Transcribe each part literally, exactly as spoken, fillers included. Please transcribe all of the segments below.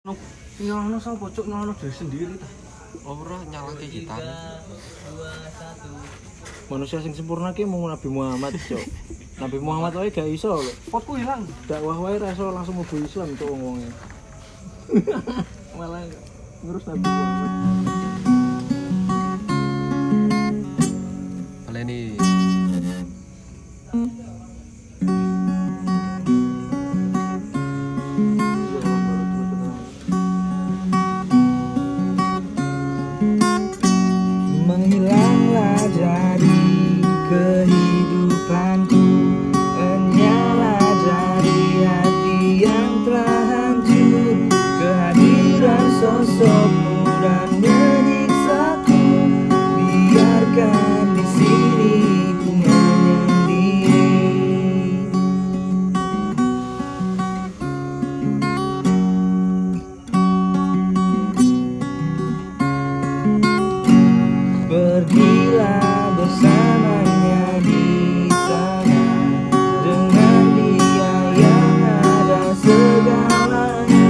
No, nyalahno sapa cuk nyalahno diri sendiri ta. Ora nyalahke kita. Manusia sing sempurna ki mung Nabi Muhammad cuk. Nabi Muhammad wae gak iso lho. Potku ilang. Dakwah wae ra iso langsung mlebu Islam cuk wong-wonge. Malah ngurus Nabi Muhammad. Baleni. Menghilanglah dari kehidupanku, enyalah dari hati yang telah hancur. Kehadiran sosokmu dan menyiksaku, biarkan di sini ku menyendiri. Pergilah bersamanya di sana, dengan dia yang ada segalanya.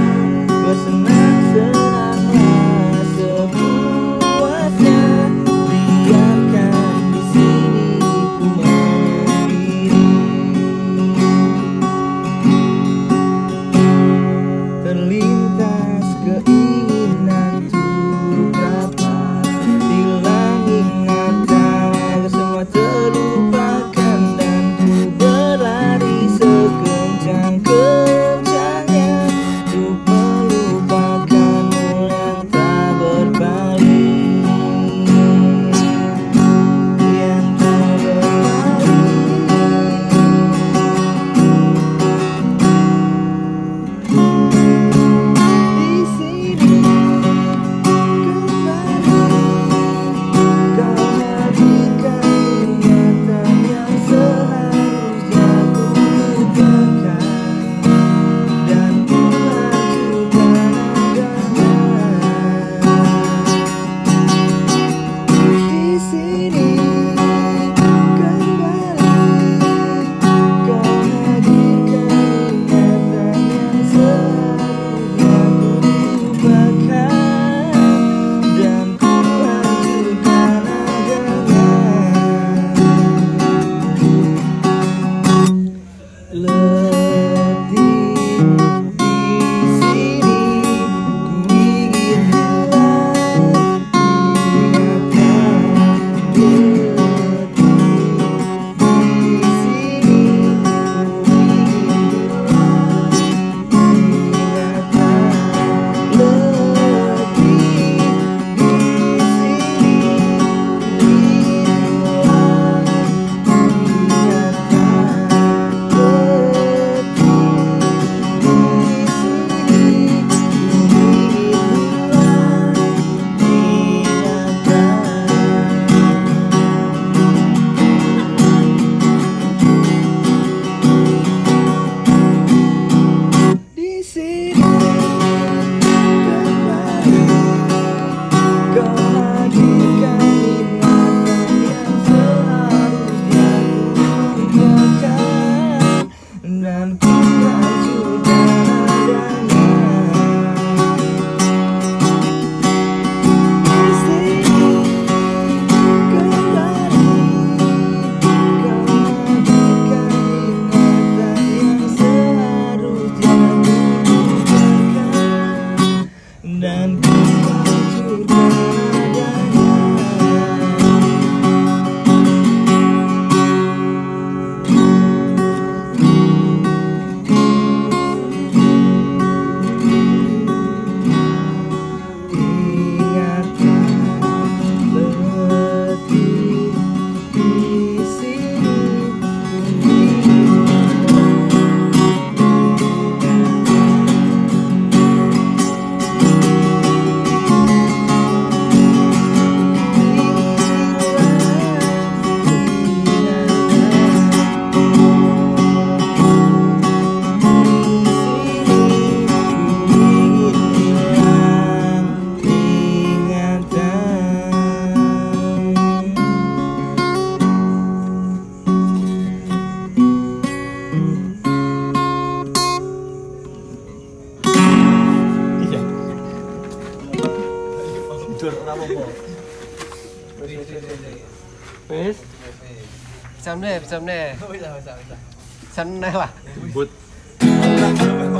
Bersenang-senanglah sepuasnya, biarkan di sini ku menyendiri. Terlintas keinginan untuk dapat hilang ingatan agar semua terlupakan, dan ku berlari sekencang-kencangnya untuk melupakanmu yang tak berpaling, yang tak berpaling. Di sini kembali kau hadirkan ingatan yang seharusnya ku lupakan, dan ku hancurkan agama. Di sini kembali kau hadirkan ingatan yang seharusnya ku lupakan, dan ku hancurkan agama. Letih di sini ku ingin hilang ingatan. Letih di sini ku ingin hilang ingatan. Letih di sini ku ingin hilang di sini kembali kau hadirkan ingatan yang seharusnya ku lupakan, dan ku hancurkan adanya. Di sini kembali kau hadirkan ingatan yang seharusnya ku lupakan, dan ku hancurkan adanya. Ingatan letih di sini ku ingin ora apa-apa. Wis wis wis. Wis. Bisa meneh, bisa meneh. Bisa bisa bisa. Bisa meneh lah. Jembut.